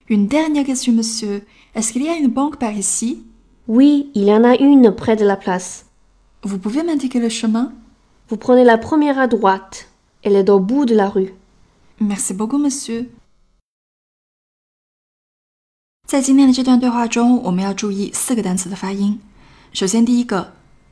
Une dernière question, monsieur. Est-ce qu'il y a une banque par ici? Oui, il y en a une près de la place. Vous pouvez m'indiquer le chemin? Vous prenez la première à droite. Elle est au bout de la rue. Merci beaucoup, monsieur. 在今天的这段对话中，我们要注意4个单词的发音。首先，第一个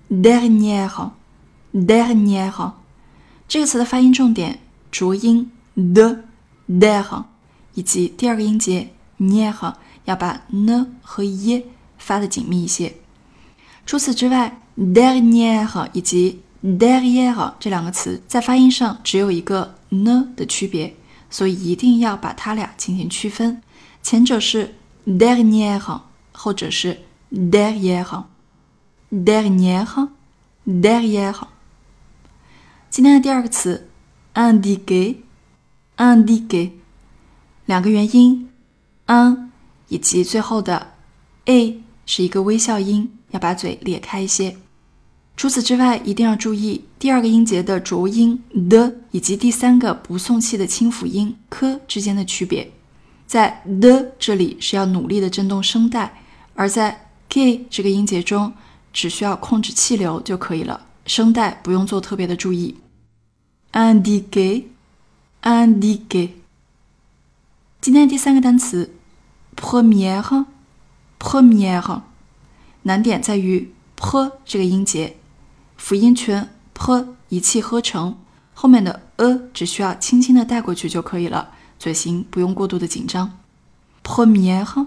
dernière，dernière 这个词的发音重点浊音 de 以及第二个音节 nière 要把 n 和 ye 发得紧密一些。除此之外 dernière 以及 derrière 这两个词在发音上只有一个 n 的区别，所以一定要把它俩进行区分。前者是 dernière， 后者是 derrière。 dernière derrière。 今天的第二个词 indiquer， 两个元音 un 以及最后的 a 是一个微笑音，要把嘴咧开一些。除此之外，一定要注意第二个音节的浊音 的 以及第三个不送气的清辅音 k 之间的区别。在 的 这里是要努力的震动声带，而在 k 这个音节中只需要控制气流就可以了，声带不用做特别的注意。indiquer， 今天的第三个单词 première， 难点在于 p 这个音节，辅音全 p 一气呵成，后面的只需要轻轻的带过去就可以了，嘴型不用过度的紧张。première。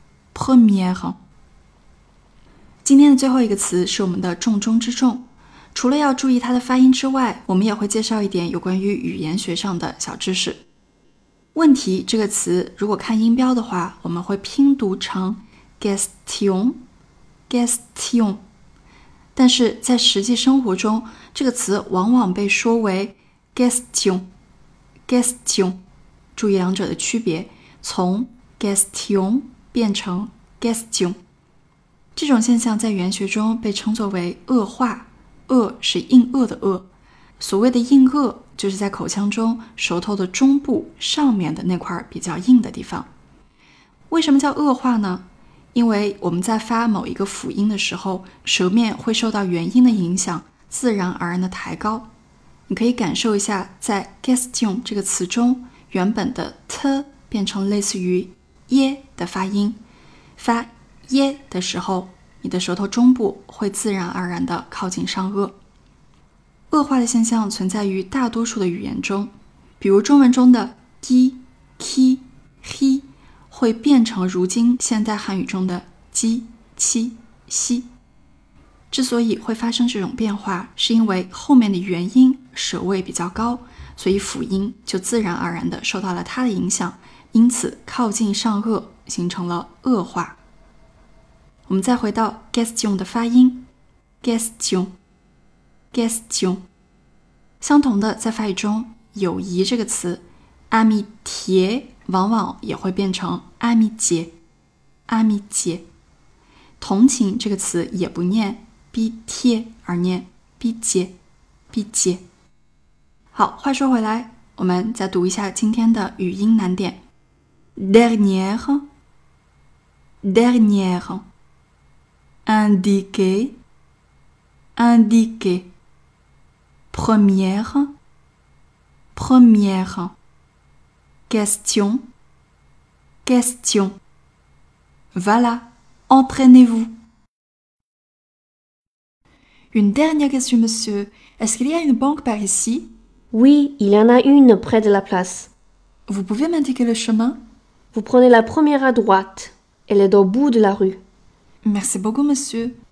今天的最后一个词是我们的重中之重，除了要注意它的发音之外，我们也会介绍一点有关于语言学上的小知识。问题这个词如果看音标的话，我们会拼读成 question， 但是在实际生活中，这个词往往被说为 question。 注意两者的区别，从 question 变成 question。 这种现象在语言学中被称作为腭化，腭是硬腭的腭，所谓的硬腭就是在口腔中舌头的中部上面的那块比较硬的地方。为什么叫腭化呢？因为我们在发某一个辅音的时候，舌面会受到元音的影响，自然而然的抬高。你可以感受一下，在 question 这个词中，原本的 t 变成类似于耶的发音，发耶的时候，你的舌头中部会自然而然的靠近上颚。腭化的现象存在于大多数的语言中，比如中文中的 gi、ki、hi 会变成如今现代汉语中的 ji、qi、xi。之所以会发生这种变化，是因为后面的元音舌位比较高，所以辅音就自然而然的受到了它的影响，因此靠近上颚，形成了腭化。我们再回到 question 的发音 question。 相同的，在法语中，友谊这个词 amitié 往往也会变成 amitié。 同情这个词也不念 pitié 而念 pitié。 好，话说回来，我们再读一下今天的语音难点。 dernière indiquer première question voilà, entraînez-vous. Une dernière question, monsieur. Est-ce qu'il y a une banque par ici? Oui, il y en a une près de la place. Vous pouvez m'indiquer le chemin? Vous prenez la première à droite. Elle est au bout de la rue. Merci beaucoup, monsieur.